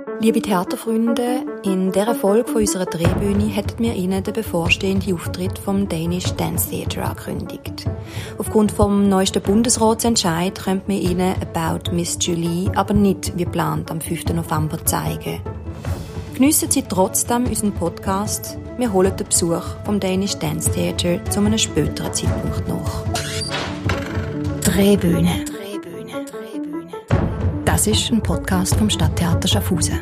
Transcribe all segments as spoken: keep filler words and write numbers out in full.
Liebe Theaterfreunde, in dieser Folge von unserer Drehbühne hätten wir Ihnen den bevorstehenden Auftritt vom Danish Dance Theatre angekündigt. Aufgrund vom neuesten Bundesratsentscheid können wir Ihnen About Miss Julie aber nicht wie geplant am fünften November zeigen. Geniessen Sie trotzdem unseren Podcast. Wir holen den Besuch vom Danish Dance Theatre zu einem späteren Zeitpunkt nach. Drehbühne. Drehbühne. Drehbühne. Das ist ein Podcast vom Stadttheater Schaffhausen.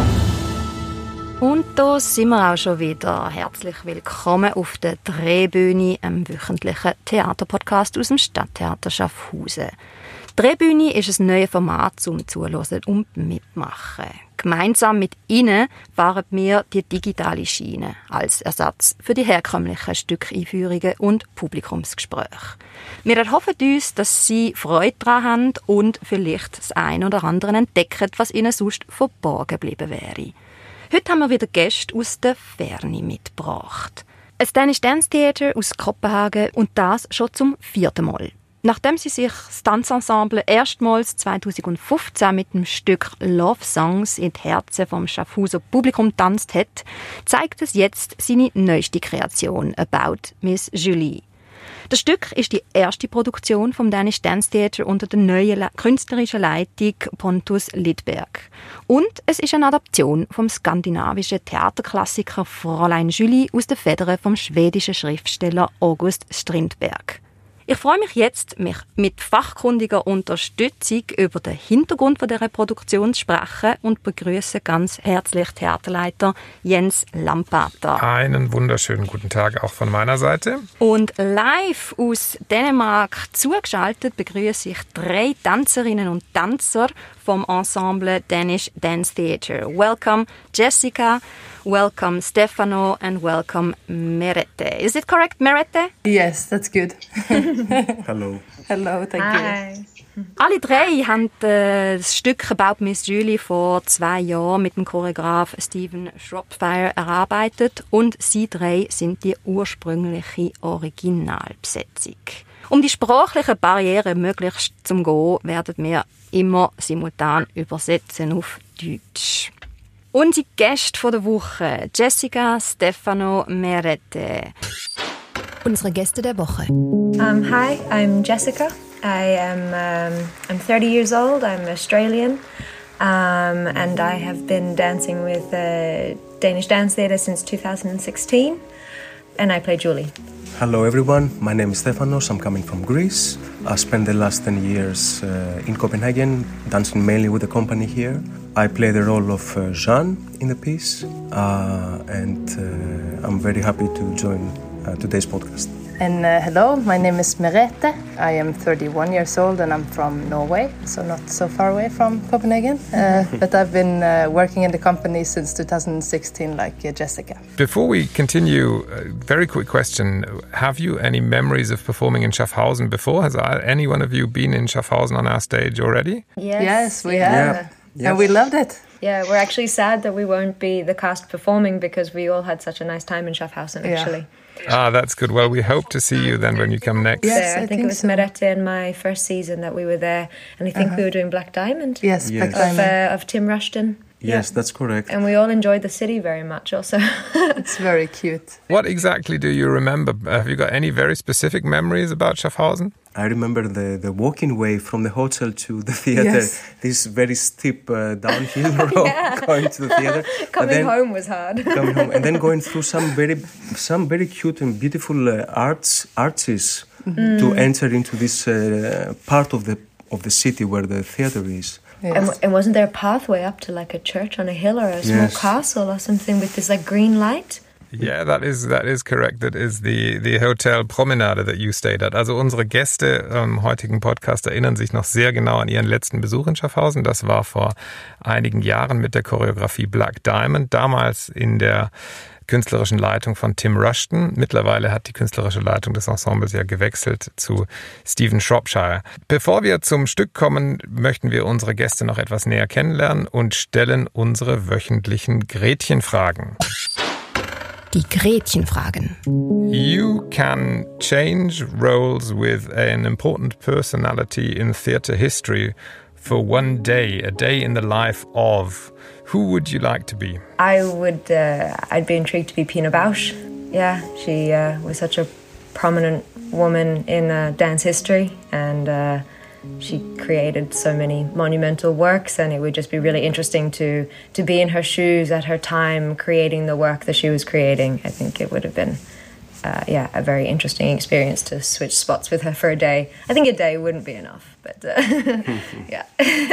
Und da sind wir auch schon wieder. Herzlich willkommen auf der Drehbühne, einem wöchentlichen Theaterpodcast aus dem Stadttheater Schaffhausen. Die Drehbühne ist ein neues Format zum Zuhören und Mitmachen. Gemeinsam mit Ihnen fahren wir die digitale Schiene als Ersatz für die herkömmlichen Stückeinführungen und Publikumsgespräche. Wir erhoffen uns, dass Sie Freude daran haben und vielleicht das eine oder andere entdecken, was Ihnen sonst verborgen geblieben wäre. Heute haben wir wieder Gäste aus der Ferne mitgebracht. Ein Danish Dance Theatre aus Kopenhagen und das schon zum vierten Mal. Nachdem sie sich das Tanzensemble erstmals zweitausendfünfzehn mit dem Stück Love Songs in die Herzen vom Schaffhauser Publikum tanzt hat, zeigt es jetzt seine neueste Kreation About Miss Julie. Das Stück ist die erste Produktion vom Danish Dance Theatre unter der neuen Le- künstlerischen Leitung Pontus Lidberg. Und es ist eine Adaption vom skandinavischen Theaterklassiker Fräulein Julie aus den Federn vom schwedischen Schriftsteller August Strindberg. Ich freue mich jetzt, mich mit fachkundiger Unterstützung über den Hintergrund dieser Produktion zu sprechen und begrüße ganz herzlich Theaterleiter Jens Lampater. Einen wunderschönen guten Tag auch von meiner Seite. Und live aus Dänemark zugeschaltet begrüße ich drei Tänzerinnen und Tänzer vom Ensemble Danish Dance Theatre. Welcome Jessica, welcome Stefano and welcome Merete. Is it correct, Merete? Yes, that's good. Hello. Hello, thank Hi. you. Alle drei haben äh, das Stück About Miss Julie vor zwei Jahren mit dem Choreograf Stephen Shropshire erarbeitet und sie drei sind die ursprüngliche Originalbesetzung. Um die sprachlichen Barrieren möglichst zu umgehen, werden wir immer simultan übersetzen auf Deutsch. Unsere Gäste der Woche, Jessica, Stefano, Merete. Unsere Gäste der Woche. Um, hi, I'm Jessica. I am um, I'm thirty years old. I'm Australian, um, and I have been dancing with uh, Danish Dance Theatre since two thousand sixteen, and I play Julie. Hello everyone, my name is Stefanos, I'm coming from Greece. I spent the last ten years uh, in Copenhagen, dancing mainly with the company here. I play the role of uh, Jeanne in the piece, uh, and uh, I'm very happy to join uh, today's podcast. And uh, hello, my name is Merete. I am thirty-one years old and I'm from Norway, so not so far away from Copenhagen. Uh, but I've been uh, working in the company since two thousand sixteen, like uh, Jessica. Before we continue, a very quick question. Have you any memories of performing in Schaffhausen before? Has any one of you been in Schaffhausen on our stage already? Yes, Yes, we yeah. have. Yeah. Yes. And we loved it. Yeah, we're actually sad that we won't be the cast performing because we all had such a nice time in Schaffhausen, Yeah. actually. Ah, that's good. Well, we hope to see you then when you come next. Yes, So I, I think, think it was so. Merete in my first season that we were there, and I think Uh-huh. we were doing Black Diamond Yes, Yes. Black of, Diamond. uh, of Tim Rushton. Yes, that's correct. And we all enjoyed the city very much also. It's very cute. What exactly do you remember? Have you got any very specific memories about Schaffhausen? I remember the, the walking way from the hotel to the theatre. Yes. This very steep uh, downhill road going to the theatre. But Coming then- home was hard. Coming home and then going through some very, some very cute and beautiful uh, arts arches to enter into this uh, part of the of the city where the theatre is. Yes. And, and wasn't there a pathway up to like a church on a hill or a small Yes. castle or something with this like green light? Yeah, that is that is correct. That is the the Hotel Promenade that you stayed at. Also unsere Gäste im heutigen Podcast erinnern sich noch sehr genau an ihren letzten Besuch in Schaffhausen. Das war vor einigen Jahren mit der Choreografie Black Diamond, damals in der künstlerischen Leitung von Tim Rushton. Mittlerweile hat die künstlerische Leitung des Ensembles ja gewechselt zu Stephen Shropshire. Bevor wir zum Stück kommen, möchten wir unsere Gäste noch etwas näher kennenlernen und stellen unsere wöchentlichen Gretchenfragen. Die Gretchenfragen. You can change roles with an important personality in theatre history for one day, a day in the life of. Who would you like to be? I would, uh, I'd be intrigued to be Pina Bausch. Yeah, she uh, was such a prominent woman in uh, dance history, and uh, she created so many monumental works, and it would just be really interesting to, to be in her shoes at her time creating the work that she was creating. I think it would have been uh, yeah, a very interesting experience to switch spots with her for a day. I think a day wouldn't be enough, but uh, yeah.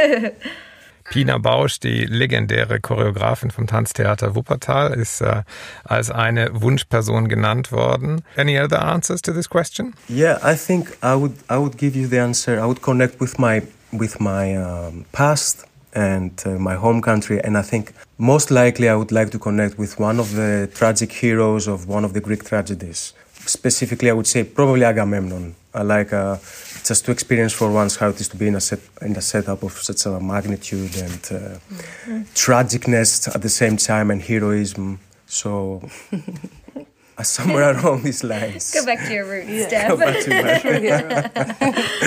Pina Bausch, die legendäre Choreografin vom Tanztheater Wuppertal, ist äh, als eine Wunschperson genannt worden. Any other answers to this question? Yeah, I think I would I would give you the answer. I would connect with my with my um, past and uh, my home country, and I think most likely I would like to connect with one of the tragic heroes of one of the Greek tragedies. Specifically, I would say probably Agamemnon. I like uh, just to experience for once how it is to be in a set in a setup of such a magnitude and uh, mm-hmm. tragicness at the same time and heroism. So uh, somewhere along these lines. Go back to your roots, yeah. Steph. Go back to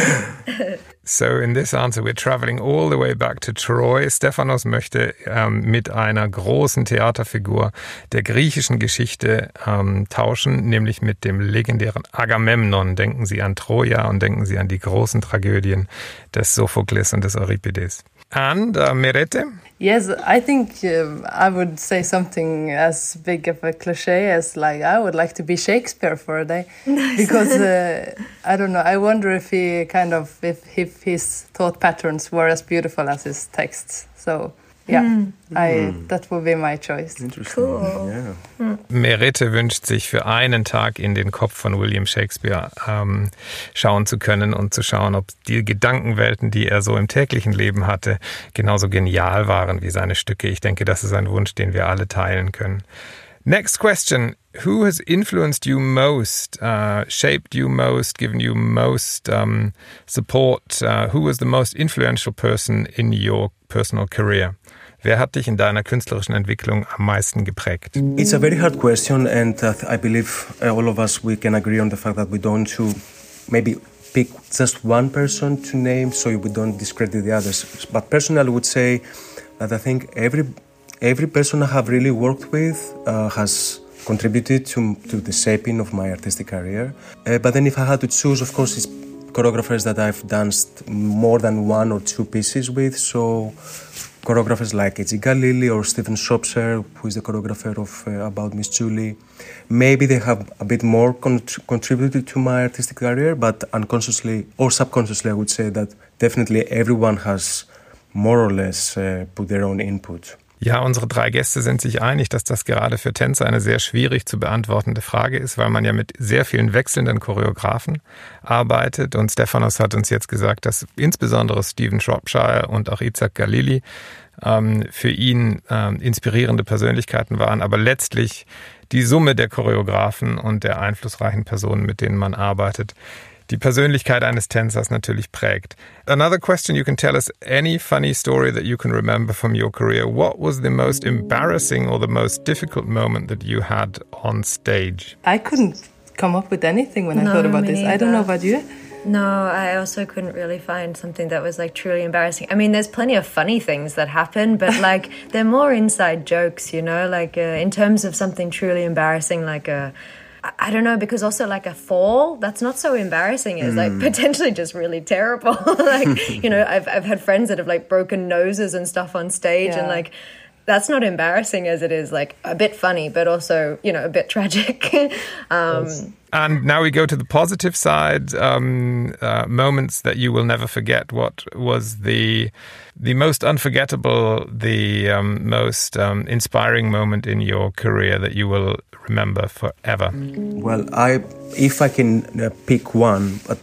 my So in this answer we're traveling all the way back to Troy. Stefanos möchte ähm, mit einer großen Theaterfigur der griechischen Geschichte ähm, tauschen, nämlich mit dem legendären Agamemnon. Denken Sie an Troja und denken Sie an die großen Tragödien des Sophokles und des Euripides. And uh, Merete? Yes, I think uh, I would say something as big of a cliche as like I would like to be Shakespeare for a day. Nice. Because uh, I don't know, I wonder if he kind of if, if his thought patterns were as beautiful as his texts. So yeah, mm. I mm. that would be my choice. Interesting. Cool. Yeah. Mm. Merete wünscht sich für einen Tag in den Kopf von William Shakespeare ähm, schauen zu können und zu schauen, ob die Gedankenwelten, die er so im täglichen Leben hatte, genauso genial waren wie seine Stücke. Ich denke, das ist ein Wunsch, den wir alle teilen können. Next question. Who has influenced you most, uh, shaped you most, given you most um, support? Uh, who was the most influential person in your personal career? Wer hat dich in deiner künstlerischen Entwicklung am meisten geprägt? It's a very hard question, and uh, I believe uh, all of us, we can agree on the fact that we don't to maybe pick just one person to name so we don't discredit the others. But personally, I would say that I think every every person I have really worked with uh, has contributed to, to the shaping of my artistic career. Uh, but then if I had to choose, of course, it's choreographers that I've danced more than one or two pieces with. So choreographers like Edgy Galili or Stephen Shropshire, who is the choreographer of uh, About Miss Julie. Maybe they have a bit more con- contributed to my artistic career, but unconsciously or subconsciously I would say that definitely everyone has more or less uh, put their own input. Ja, unsere drei Gäste sind sich einig, dass das gerade für Tänzer eine sehr schwierig zu beantwortende Frage ist, weil man ja mit sehr vielen wechselnden Choreografen arbeitet. Und Stefanos hat uns jetzt gesagt, dass insbesondere Stephen Shropshire und auch Isaac Galili ähm, für ihn ähm, inspirierende Persönlichkeiten waren. Aber letztlich die Summe der Choreografen und der einflussreichen Personen, mit denen man arbeitet, die Persönlichkeit eines Tänzers natürlich prägt. Another question, you can tell us any funny story that you can remember from your career. What was the most embarrassing or the most difficult moment that you had on stage? I couldn't come up with anything when no, I thought about this. Neither. I don't know about you. No, I also couldn't really find something that was like truly embarrassing. I mean, there's plenty of funny things that happen, but like they're more inside jokes, you know, like uh, in terms of something truly embarrassing, like a I don't know, because also like a fall, that's not so embarrassing. It's like potentially just really terrible. Like, you know, I've I've had friends that have like broken noses and stuff on stage, yeah. And like that's not embarrassing as it is like a bit funny, but also, you know, a bit tragic. um, yes. And now we go to the positive side, um, uh, moments that you will never forget. What was the the most unforgettable, the um, most um, inspiring moment in your career that you will remember forever? Well, I, if I can uh, pick one, but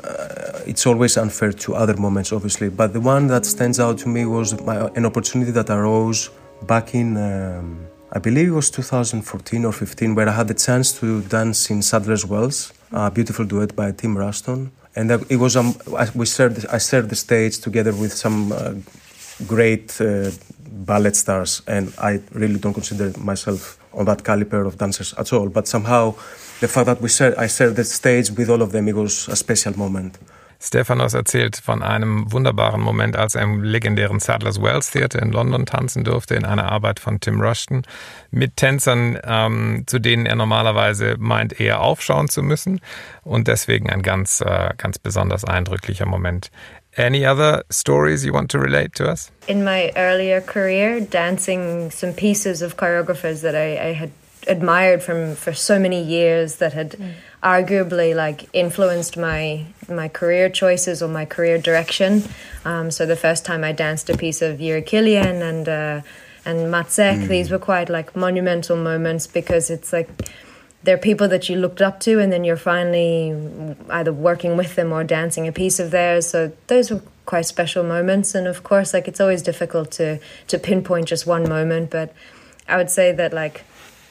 uh, it's always unfair to other moments, obviously. But the one that stands out to me was my, an opportunity that arose back in, um, I believe it was two thousand fourteen or fifteen, where I had the chance to dance in Sadler's Wells, a beautiful duet by Tim Ruston. And it was um, we shared, I shared the stage together with some uh, great uh, ballet stars, and I really don't consider myself on that caliber of dancers at all. But somehow, the fact that we shared, I shared the stage with all of them, it was a special moment. Stefanos erzählt von einem wunderbaren Moment, als er im legendären Sadler's Wells Theatre in London tanzen durfte, in einer Arbeit von Tim Rushton, mit Tänzern, ähm, zu denen er normalerweise meint, eher aufschauen zu müssen. Und deswegen ein ganz, äh, ganz besonders eindrücklicher Moment. Any other stories you want to relate to us? In my earlier career, dancing some pieces of choreographers that I, I had admired from for so many years that had mm. arguably like influenced my my career choices or my career direction. Um, so the first time I danced a piece of Yuri Kilian and uh, and Matsek, mm. these were quite like monumental moments because it's like they're people that you looked up to and then you're finally either working with them or dancing a piece of theirs. So those were quite special moments. And of course, like it's always difficult to to pinpoint just one moment, but I would say that like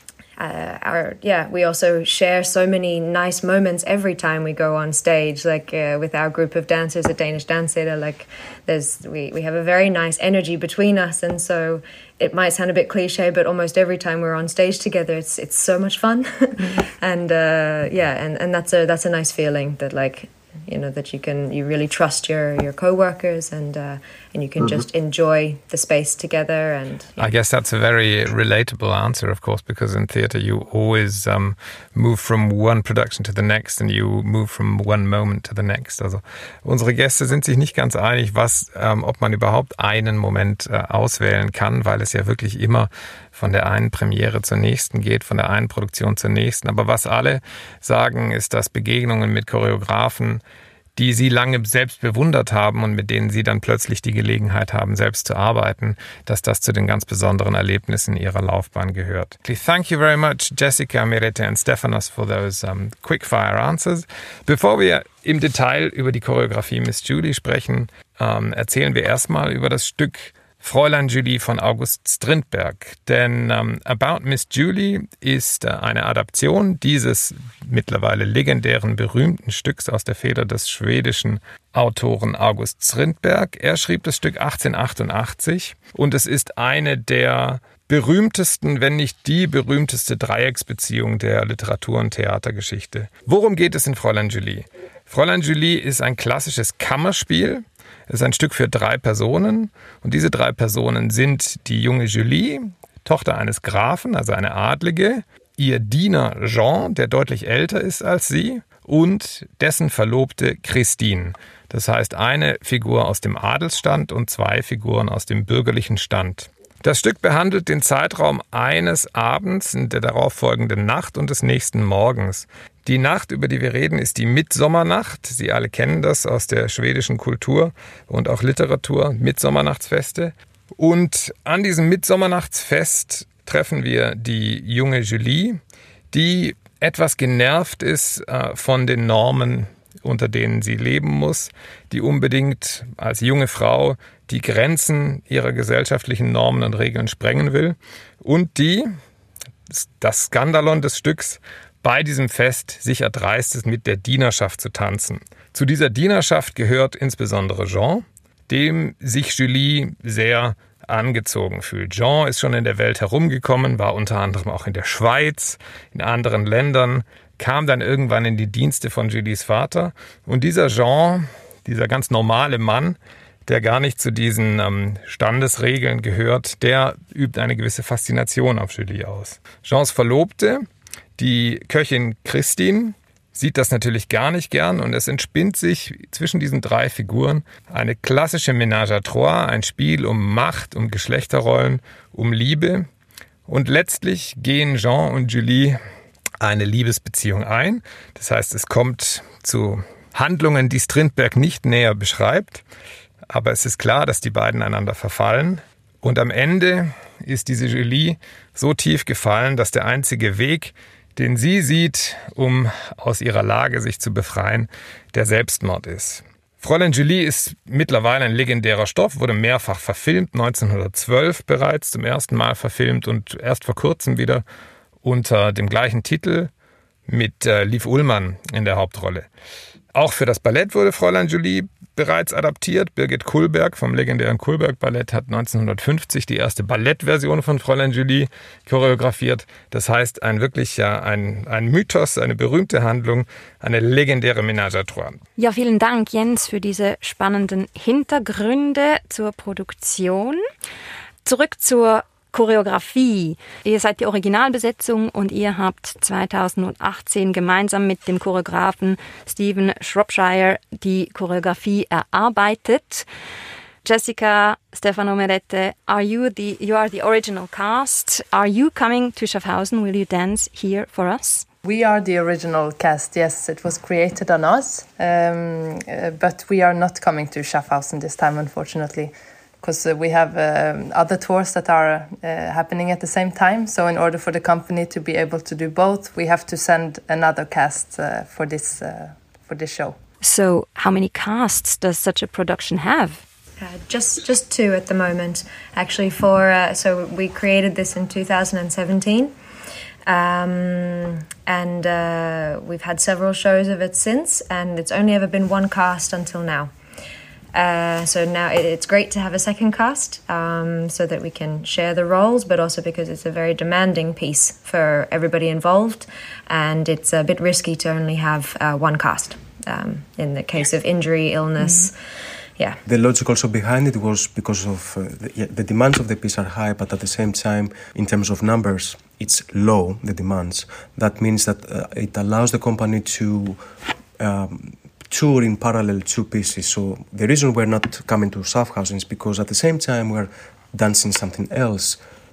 Uh, our yeah, we also share so many nice moments every time we go on stage. Like uh, with our group of dancers at Danish Dance Theatre, like there's we we have a very nice energy between us, and so it might sound a bit cliche, but almost every time we're on stage together, it's it's so much fun, mm-hmm. and uh, yeah, and, and that's a that's a nice feeling that like you know that you can you really trust your your co-workers and uh, and you can mm-hmm. just enjoy the space together. And yeah. I guess that's a very relatable answer, of course, because in theatre you always um, move from one production to the next and you move from one moment to the next. Also unsere Gäste sind sich nicht ganz einig, was ähm, ob man überhaupt einen Moment äh, auswählen kann, weil es ja wirklich immer von der einen Premiere zur nächsten geht, von der einen Produktion zur nächsten. Aber was alle sagen, ist, dass Begegnungen mit Choreografen, die sie lange selbst bewundert haben und mit denen sie dann plötzlich die Gelegenheit haben, selbst zu arbeiten, dass das zu den ganz besonderen Erlebnissen ihrer Laufbahn gehört. Thank you very much, Jessica, Mirete and Stefanos, for those um, quick-fire answers. Bevor wir im Detail über die Choreografie Miss Julie sprechen, ähm, erzählen wir erstmal über das Stück Fräulein Julie von August Strindberg. Denn ähm, About Miss Julie ist äh, eine Adaption dieses mittlerweile legendären, berühmten Stücks aus der Feder des schwedischen Autoren August Strindberg. Er schrieb das Stück achtzehnhundertachtundachtzig und es ist eine der berühmtesten, wenn nicht die berühmteste Dreiecksbeziehung der Literatur- und Theatergeschichte. Worum geht es in Fräulein Julie? Fräulein Julie ist ein klassisches Kammerspiel. Es ist ein Stück für drei Personen und diese drei Personen sind die junge Julie, Tochter eines Grafen, also eine Adlige, ihr Diener Jean, der deutlich älter ist als sie, und dessen Verlobte Christine. Das heißt eine Figur aus dem Adelsstand und zwei Figuren aus dem bürgerlichen Stand. Das Stück behandelt den Zeitraum eines Abends, in der darauffolgenden Nacht und des nächsten Morgens. Die Nacht, über die wir reden, ist die Mitsommernacht. Sie alle kennen das aus der schwedischen Kultur und auch Literatur, Mitsommernachtsfeste. Und an diesem Mitsommernachtsfest treffen wir die junge Julie, die etwas genervt ist äh, von den Normen, unter denen sie leben muss, die unbedingt als junge Frau die Grenzen ihrer gesellschaftlichen Normen und Regeln sprengen will und die, das Skandalon des Stücks, bei diesem Fest sich erdreist ist, mit der Dienerschaft zu tanzen. Zu dieser Dienerschaft gehört insbesondere Jean, dem sich Julie sehr angezogen fühlt. Jean ist schon in der Welt herumgekommen, war unter anderem auch in der Schweiz, in anderen Ländern, kam dann irgendwann in die Dienste von Julies Vater. Und dieser Jean, dieser ganz normale Mann, der gar nicht zu diesen ähm, Standesregeln gehört, der übt eine gewisse Faszination auf Julie aus. Jeans Verlobte, die Köchin Christine, sieht das natürlich gar nicht gern und es entspinnt sich zwischen diesen drei Figuren eine klassische Ménage à trois, ein Spiel um Macht, um Geschlechterrollen, um Liebe. Und letztlich gehen Jean und Julie eine Liebesbeziehung ein. Das heißt, es kommt zu Handlungen, die Strindberg nicht näher beschreibt. Aber es ist klar, dass die beiden einander verfallen. Und am Ende ist diese Julie so tief gefallen, dass der einzige Weg, den sie sieht, um aus ihrer Lage sich zu befreien, der Selbstmord ist. Fräulein Julie ist mittlerweile ein legendärer Stoff, wurde mehrfach verfilmt, neunzehnhundertzwölf bereits zum ersten Mal verfilmt und erst vor kurzem wieder unter dem gleichen Titel mit äh, Liv Ullmann in der Hauptrolle. Auch für das Ballett wurde Fräulein Julie bereits adaptiert. Birgit Kullberg vom legendären Kullberg-Ballett hat neunzehnhundertfünfzig die erste Ballettversion von Fräulein Julie choreografiert. Das heißt, ein wirklich ja, ein, ein Mythos, eine berühmte Handlung, eine legendäre Ménage à trois. Ja, vielen Dank, Jens, für diese spannenden Hintergründe zur Produktion. Zurück zur Choreografie. Ihr seid die Originalbesetzung und ihr habt zweitausendachtzehn gemeinsam mit dem Choreografen Stephen Shropshire die Choreografie erarbeitet. Jessica, Stefano Merete, are you the you are the original cast? Are you coming to Schaffhausen? Will you dance here for us? We are the original cast, yes. It was created on us, um, uh, but we are not coming to Schaffhausen this time, unfortunately. Because uh, we have uh, other tours that are uh, happening at the same time. So in order for the company to be able to do both, we have to send another cast uh, for this uh, for this show. So how many casts does such a production have? Uh, just just two at the moment. Actually, for uh, so we created this in two thousand seventeen. Um, and uh, we've had several shows of it since, and it's only ever been one cast until now. Uh, so now it, it's great to have a second cast um, so that we can share the roles, but also because it's a very demanding piece for everybody involved, and it's a bit risky to only have uh, one cast um, in the case of injury, illness. Mm-hmm. Yeah. The logic also behind it was because of uh, the, yeah, the demands of the piece are high, but at the same time, in terms of numbers, it's low, the demands. That means that uh, it allows the company to um, tour in parallel two pieces. So the reason we're not coming to Schaffhausen is because at the same time we're dancing something else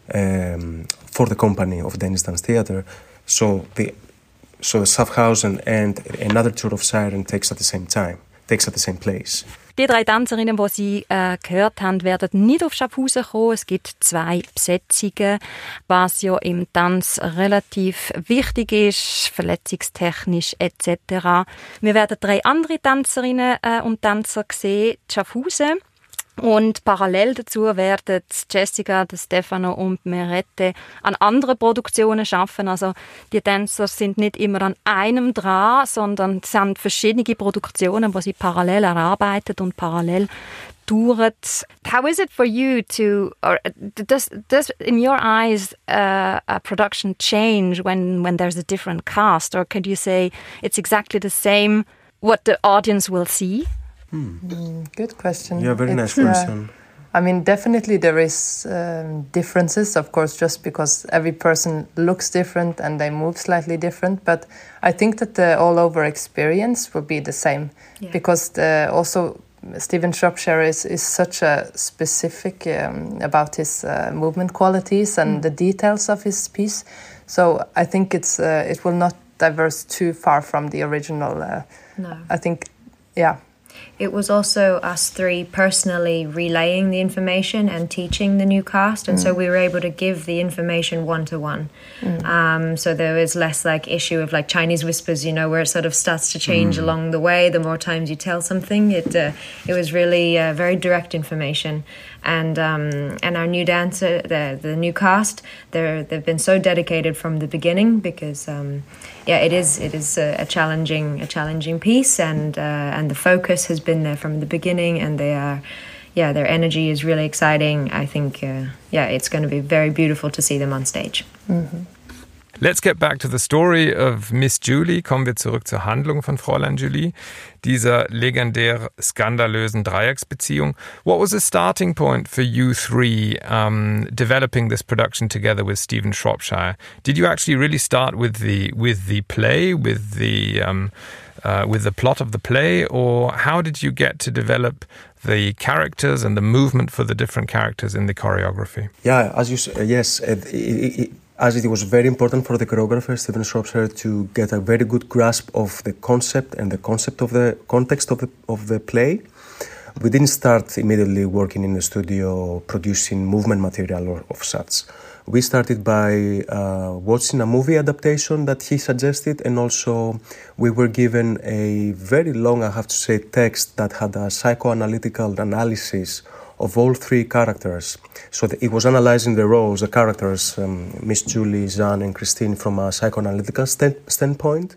um, for the company of Danish Dance Theatre. So the so Schaffhausen and another tour of Siren takes at the same time, takes at the same place. Die drei Tänzerinnen, die Sie äh, gehört haben, werden nicht auf Schaffhausen kommen. Es gibt zwei Besetzungen, was ja im Tanz relativ wichtig ist, verletzungstechnisch et cetera. Wir werden drei andere Tänzerinnen äh, und Tänzer sehen, Schaffhausen. Und parallel dazu werden Jessica, Stefano und Merete an anderen Produktionen arbeiten. Also die Tänzer sind nicht immer an einem dran, sondern es sind verschiedene Produktionen, die sie parallel erarbeiten und parallel touren. How is it for you to, or does, does in your eyes uh, a production change when, when there's a different cast? Or could you say it's exactly the same what the audience will see? Hmm. Mm, good question. Yeah, very it's, nice question. Uh, I mean, definitely there is um, differences, of course, just because every person looks different and they move slightly different. But I think that the all-over experience will be the same, yeah. Because the, also Stephen Shropshire is, is such a specific um, about his uh, movement qualities and mm. the details of his piece. So I think it's uh, it will not diverge too far from the original. Uh, no. I think, yeah. It was also us three personally relaying the information and teaching the new cast, and mm. so we were able to give the information one-to-one. Mm. Um, so there was less like issue of like Chinese whispers, you know, where it sort of starts to change mm. along the way. The more times you tell something, it uh, it was really uh, very direct information. And um, and our new dancer, the the new cast, they're they've been so dedicated from the beginning because um, yeah, it is it is a, a challenging a challenging piece, and uh, and the focus has been there from the beginning, and they are yeah their energy is really exciting. I think uh, yeah it's going to be very beautiful to see them on stage. Mm-hmm. Let's get back to the story of Miss Julie. Kommen wir zurück zur Handlung von Fräulein Julie, dieser legendär skandalösen Dreiecksbeziehung. What was the starting point for you three um, developing this production together with Stephen Shropshire? Did you actually really start with the with the play, with the um, uh, with the plot of the play, or how did you get to develop the characters and the movement for the different characters in the choreography? Yeah, as you uh, yes. Uh, it, it, As it was very important for the choreographer, Stephen Shropshire, to get a very good grasp of the concept and the concept of the context of the of the play. We didn't start immediately working in the studio producing movement material or of such. We started by uh, watching a movie adaptation that he suggested, and also we were given a very long, I have to say, text that had a psychoanalytical analysis of all three characters. So the, it was analyzing the roles, the characters, um, Miss Julie, Jeanne and Christine, from a psychoanalytical stand, standpoint.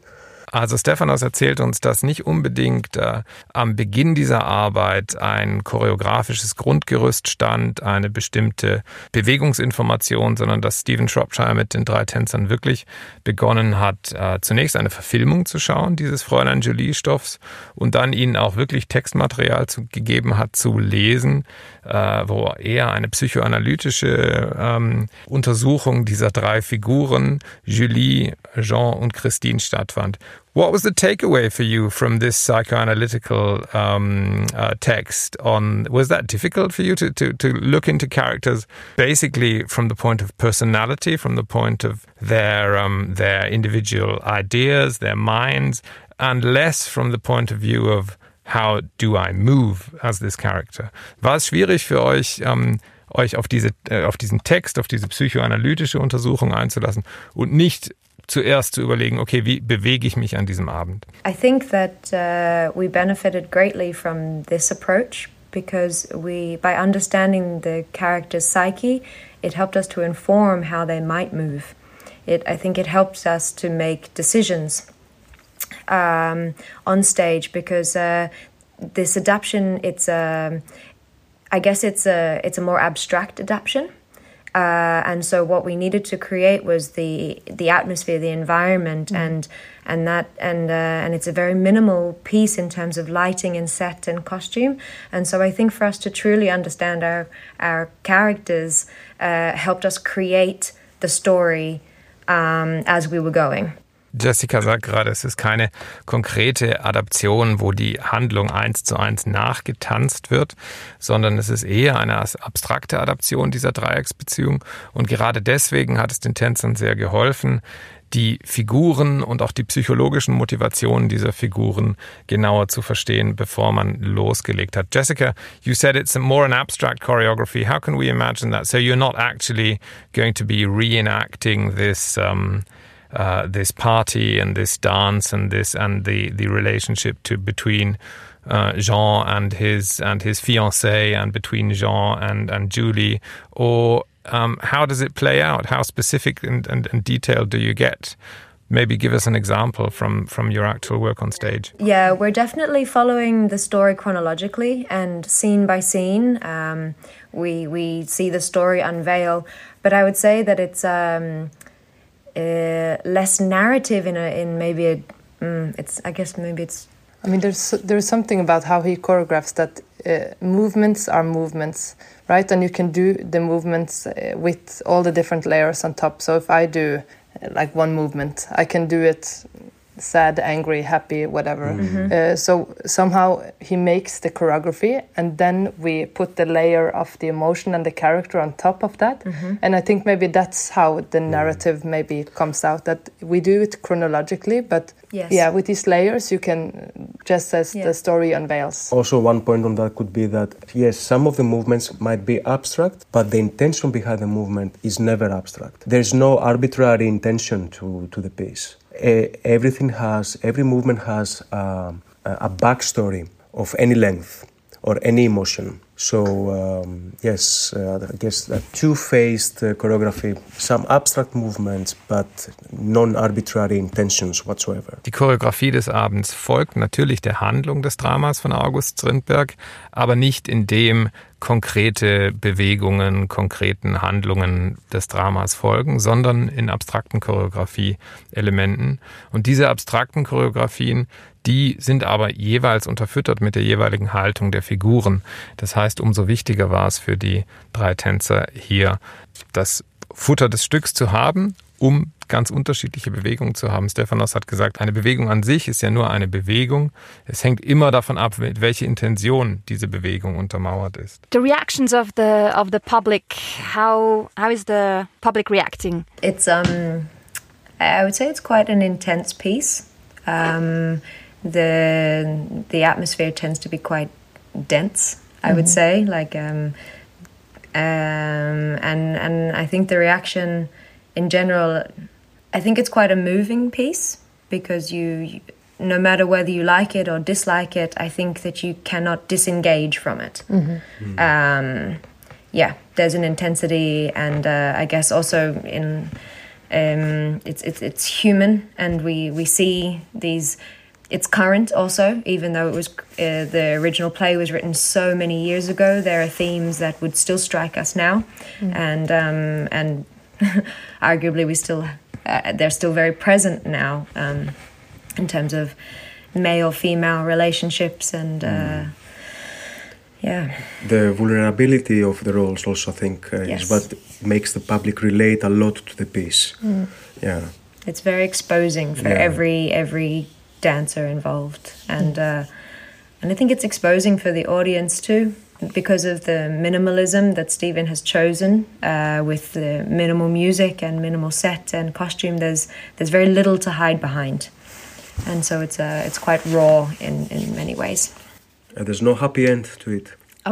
Also Stefanos erzählt uns, dass nicht unbedingt äh, am Beginn dieser Arbeit ein choreografisches Grundgerüst stand, eine bestimmte Bewegungsinformation, sondern dass Stephen Shropshire mit den drei Tänzern wirklich begonnen hat, äh, zunächst eine Verfilmung zu schauen, dieses Fräulein Julie-Stoffs, und dann ihnen auch wirklich Textmaterial zu, gegeben hat zu lesen, äh, wo eher eine psychoanalytische ähm, Untersuchung dieser drei Figuren, Julie, Jean und Christine, stattfand. What was the takeaway for you from this psychoanalytical um, uh, text? On was that difficult for you to, to, to look into characters basically from the point of personality, from the point of their um, their individual ideas, their minds, and less from the point of view of how do I move as this character? War es schwierig für euch, um, euch auf diese äh, auf diesen Text, auf diese psychoanalytische Untersuchung einzulassen und nicht zuerst zu überlegen, okay, wie bewege ich mich an diesem Abend? I think that uh, we benefited greatly from this approach because we, by understanding the character's psyche, it helped us to inform how they might move. It, I think it helps us to make decisions um, on stage because uh, this adaptation, it's a, I guess it's a, it's a more abstract adaptation. Uh, and so what we needed to create was the the atmosphere, the environment, mm. and and that and uh, and it's a very minimal piece in terms of lighting and set and costume. And so I think for us to truly understand our our characters uh, helped us create the story um, as we were going. Jessica sagt gerade, es ist keine konkrete Adaption, wo die Handlung eins zu eins nachgetanzt wird, sondern es ist eher eine abstrakte Adaption dieser Dreiecksbeziehung. Und gerade deswegen hat es den Tänzern sehr geholfen, die Figuren und auch die psychologischen Motivationen dieser Figuren genauer zu verstehen, bevor man losgelegt hat. Jessica, you said it's more an abstract choreography. How can we imagine that? So you're not actually going to be reenacting this um, Uh, this party and this dance and this and the, the relationship to between uh, Jean and his and his fiancée and between Jean and, and Julie, or um, how does it play out? How specific and, and, and detailed do you get? Maybe give us an example from, from your actual work on stage. Yeah, we're definitely following the story chronologically and scene by scene. Um, we we see the story unveil, but I would say that it's um, Uh, less narrative in a in maybe a mm, it's I guess maybe it's I mean there's there's something about how he choreographs that uh, movements are movements, right? And you can do the movements uh, with all the different layers on top. So if I do uh, like one movement, I can do it sad, angry, happy, whatever. Mm-hmm. Uh, so somehow he makes the choreography and then we put the layer of the emotion and the character on top of that. Mm-hmm. And I think maybe that's how the narrative maybe comes out, that we do it chronologically, but yes. yeah, with these layers you can, just as yeah. the story unveils. Also one point on that could be that, yes, some of the movements might be abstract, but the intention behind the movement is never abstract. There's no arbitrary intention to, to the piece. Uh, everything has, every movement has um, a backstory of any length or any emotion. So, um, yes, uh, I guess that two-faced uh, choreography, some abstract movements, but non-arbitrary intentions whatsoever. Die Choreografie des Abends folgt natürlich der Handlung des Dramas von August Strindberg, aber nicht in dem konkrete Bewegungen, konkreten Handlungen des Dramas folgen, sondern in abstrakten Choreografie-Elementen. Und diese abstrakten Choreografien, die sind aber jeweils unterfüttert mit der jeweiligen Haltung der Figuren. Das heißt, umso wichtiger war es für die drei Tänzer hier, das Futter des Stücks zu haben, um ganz unterschiedliche Bewegungen zu haben. Stefanos hat gesagt, eine Bewegung an sich ist ja nur eine Bewegung. Es hängt immer davon ab, mit welcher Intention diese Bewegung untermauert ist. The reactions of the of the public, how how is the public reacting? It's um, I would say it's quite an intense piece. Um, the the atmosphere tends to be quite dense, I mm-hmm. would say, like um, um, and and I think the reaction in general, I think it's quite a moving piece because you, no matter whether you like it or dislike it, I think that you cannot disengage from it. Mm-hmm. Mm-hmm. Um, yeah, there's an intensity, and uh, I guess also in um, it's, it's it's human, and we, we see these. It's current also, even though it was uh, the original play was written so many years ago. There are themes that would still strike us now, mm. and um, and arguably we still uh, they're still very present now um, in terms of male-female relationships and. Uh, mm. Yeah. The vulnerability of the roles also, I think, uh, yes. is what makes the public relate a lot to the piece. Mm. Yeah. It's very exposing for yeah. every every dancer involved, and uh, and I think it's exposing for the audience too, because of the minimalism that Stephen has chosen uh, with the minimal music and minimal set and costume. There's there's very little to hide behind, and so it's uh, it's quite raw in in many ways. Uh, there's no happy end to it. Oh,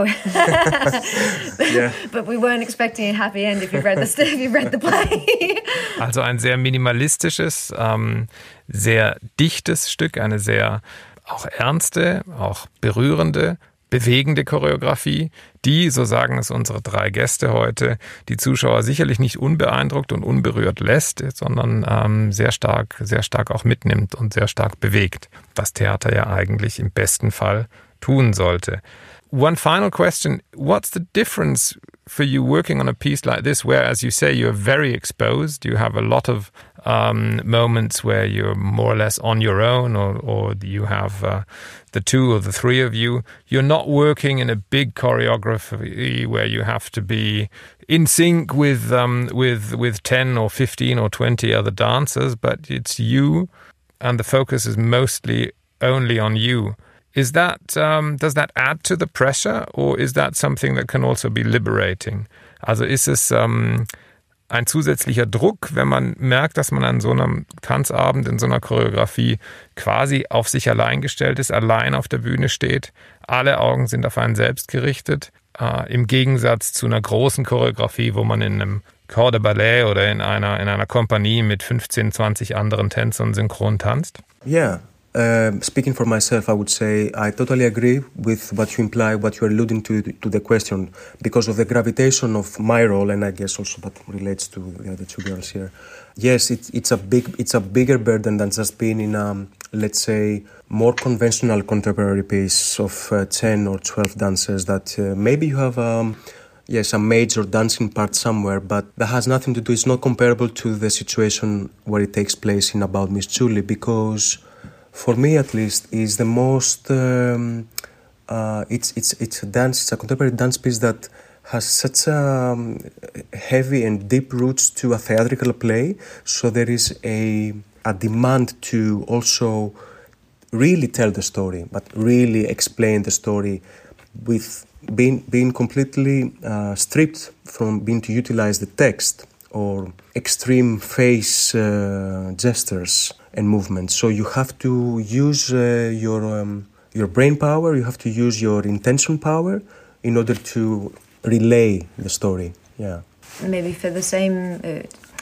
yeah. But we weren't expecting a happy end if you've read the if you've read the play. Also ein sehr minimalistisches, ähm, sehr dichtes Stück, eine sehr auch ernste, auch berührende, bewegende Choreografie, die, so sagen es unsere drei Gäste heute, die Zuschauer sicherlich nicht unbeeindruckt und unberührt lässt, sondern ähm, sehr stark, sehr stark auch mitnimmt und sehr stark bewegt, was Theater ja eigentlich im besten Fall tun sollte. One final question, what's the difference for you working on a piece like this where, as you say, you're very exposed, you have a lot of um, moments where you're more or less on your own, or, or you have uh, the two or the three of you. You're not working in a big choreography where you have to be in sync with um, with with ten or fifteen or twenty other dancers, but it's you and the focus is mostly only on you. Is that, um, does that add to the pressure, or is that something that can also be liberating? Also ist es um, ein zusätzlicher Druck, wenn man merkt, dass man an so einem Tanzabend, in so einer Choreografie quasi auf sich allein gestellt ist, allein auf der Bühne steht, alle Augen sind auf einen selbst gerichtet, äh, im Gegensatz zu einer großen Choreografie, wo man in einem Corps de Ballet oder in einer, in einer Kompanie mit fünfzehn, zwanzig anderen Tänzern synchron tanzt? Yeah. Uh, speaking for myself, I would say I totally agree with what you imply, what you're alluding to, to the question, because of the gravitation of my role, and I guess also that relates to the other two girls here. Yes, it, it's a big, it's a bigger burden than just being in a, let's say, more conventional contemporary piece of uh, ten or twelve dancers that uh, maybe you have um, yes, a major dancing part somewhere, but that has nothing to do, it's not comparable to the situation where it takes place in About Miss Julie, because for me, at least, is the most. Um, uh, it's it's it's a dance. It's a contemporary dance piece that has such um, heavy and deep roots to a theatrical play. So there is a a demand to also really tell the story, but really explain the story, with being being completely uh, stripped from being to utilize the text or extreme face uh, gestures and movements. So you have to use uh, your um, your brain power, you have to use your intention power in order to relay the story. Yeah. Maybe for the same... Uh,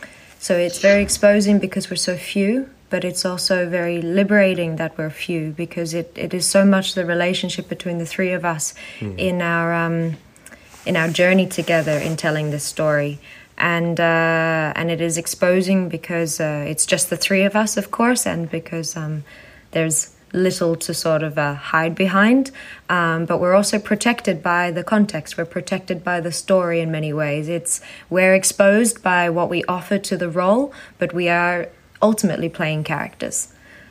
so it's very exposing because we're so few, but it's also very liberating that we're few, because it, it is so much the relationship between the three of us mm. in our um, in our journey together in telling this story. And uh, and it is exposing because uh, it's just the three of us, of course, and because um, there's little to sort of uh, hide behind. Um, but we're also protected by the context. We're protected by the story in many ways. It's we're exposed by what we offer to the role, but we are ultimately playing characters.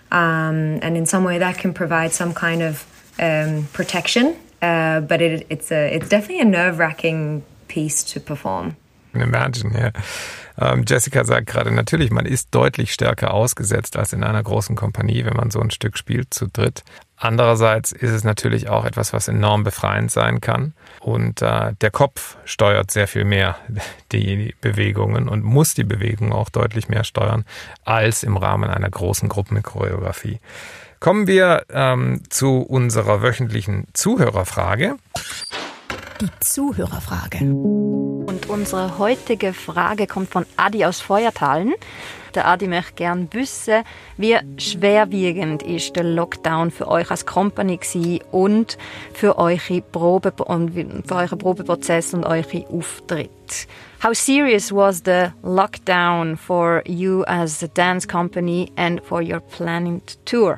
Um, and in some way, that can provide some kind of um, protection. Uh, but it, it's a it's definitely a nerve-wracking piece to perform. Imagine, ja. Ähm, Jessica sagt gerade, natürlich, man ist deutlich stärker ausgesetzt als in einer großen Kompanie, wenn man so ein Stück spielt zu dritt. Andererseits ist es natürlich auch etwas, was enorm befreiend sein kann. Und äh, der Kopf steuert sehr viel mehr die Bewegungen und muss die Bewegungen auch deutlich mehr steuern als im Rahmen einer großen Gruppenchoreografie. Kommen wir ähm, zu unserer wöchentlichen Zuhörerfrage. Die Zuhörerfrage. Und unsere heutige Frage kommt von Adi aus Feuertalen. Der Adi möchte gerne wissen, wie schwerwiegend ist der Lockdown für euch als Company gewesen und für eure Probe und für euren Probeprozess und eure Auftritte. How serious was the lockdown for you as a dance company and for your planning tour?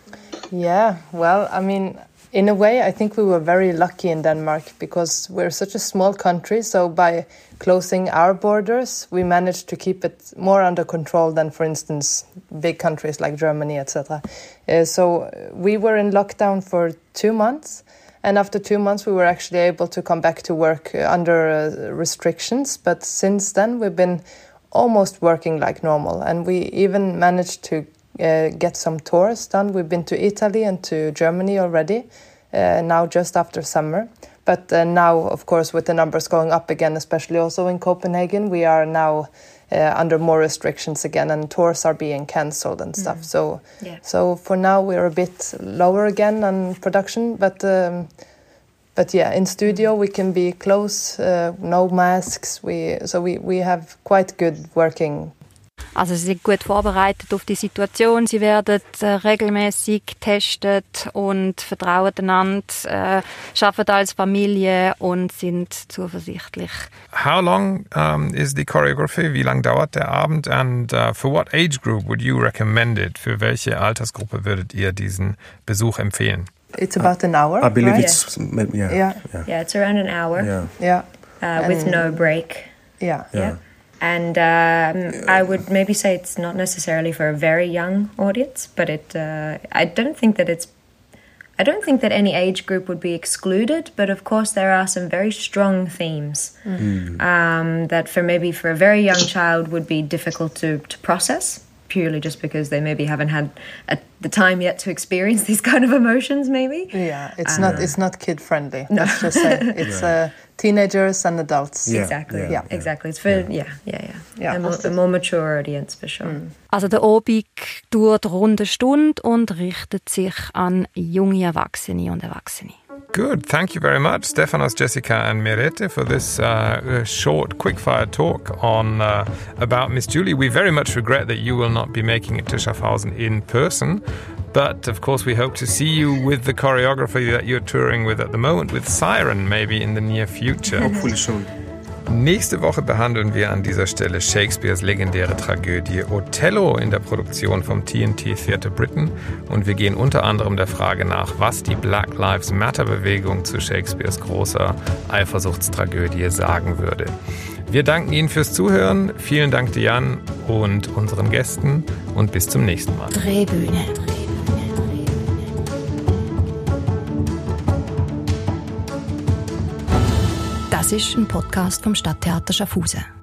Yeah, well, I mean, in a way, I think we were very lucky in Denmark because we're such a small country. So by closing our borders, we managed to keep it more under control than, for instance, big countries like Germany, et cetera. Uh, so we were in lockdown for two months. And after two months, we were actually able to come back to work uh, under uh, restrictions. But since then, we've been almost working like normal. And we even managed to uh, get some tours done. We've been to Italy and to Germany already, uh, now just after summer. But uh, now, of course, with the numbers going up again, especially also in Copenhagen, we are now uh, under more restrictions again, and tours are being cancelled and stuff. Mm. So, yeah. so for now, we're a bit lower again on production. But, um, but yeah, in studio we can be close, uh, no masks. We so we we have quite good working. Also sie sind gut vorbereitet auf die Situation, sie werden äh, regelmäßig getestet und vertrauen einander, äh, arbeiten als Familie und sind zuversichtlich. How long um, is the choreography? Wie lang dauert der Abend? And uh, for what age group would you recommend it? Für welche Altersgruppe würdet ihr diesen Besuch empfehlen? It's about an hour. I believe right? it's yeah. Yeah. Yeah. yeah, yeah, it's around an hour. Yeah, yeah. Uh, with no break. Yeah, yeah. yeah. And um, I would maybe say it's not necessarily for a very young audience, but it. Uh, I don't think that it's. I don't think that any age group would be excluded, but of course there are some very strong themes mm. um, that for maybe for a very young child would be difficult to, to process, purely just because they maybe haven't had a, the time yet to experience these kind of emotions, maybe. Yeah, it's um, not it's not kid friendly. No. Let's just say it's uh, teenagers and adults. Yeah, exactly. Yeah, yeah, exactly. It's for yeah, yeah, yeah. yeah. yeah. A, more, a more mature audience for sure. Mm. Also der Abend dauert rund eine Stunde und richtet sich an junge Erwachsene und Erwachsene. Good. Thank you very much, Stefanos, Jessica and Merete, for this uh, short, quick-fire talk on uh, about Miss Julie. We very much regret that you will not be making it to Schaffhausen in person, but of course we hope to see you with the choreography that you're touring with at the moment, with Siren, maybe in the near future. Hopefully soon. Nächste Woche behandeln wir an dieser Stelle Shakespeares legendäre Tragödie Othello in der Produktion vom T N T Theatre Britain und wir gehen unter anderem der Frage nach, was die Black Lives Matter Bewegung zu Shakespeares großer Eifersuchtstragödie sagen würde. Wir danken Ihnen fürs Zuhören, vielen Dank Diane und unseren Gästen und bis zum nächsten Mal. Drehbühne. Das ist ein Podcast vom Stadttheater Schaffhausen.